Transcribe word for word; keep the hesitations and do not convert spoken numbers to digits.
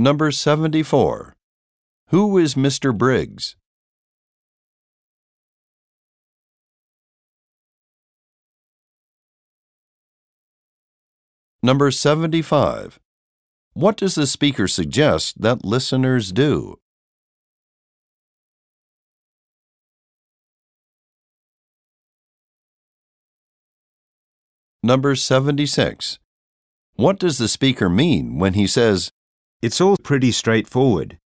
Number seventy-four. Who is Mister Briggs? Number seventy-five. What does the speaker suggest that listeners do? Number seventy-six. What does the speaker mean when he says, It's all pretty straightforward.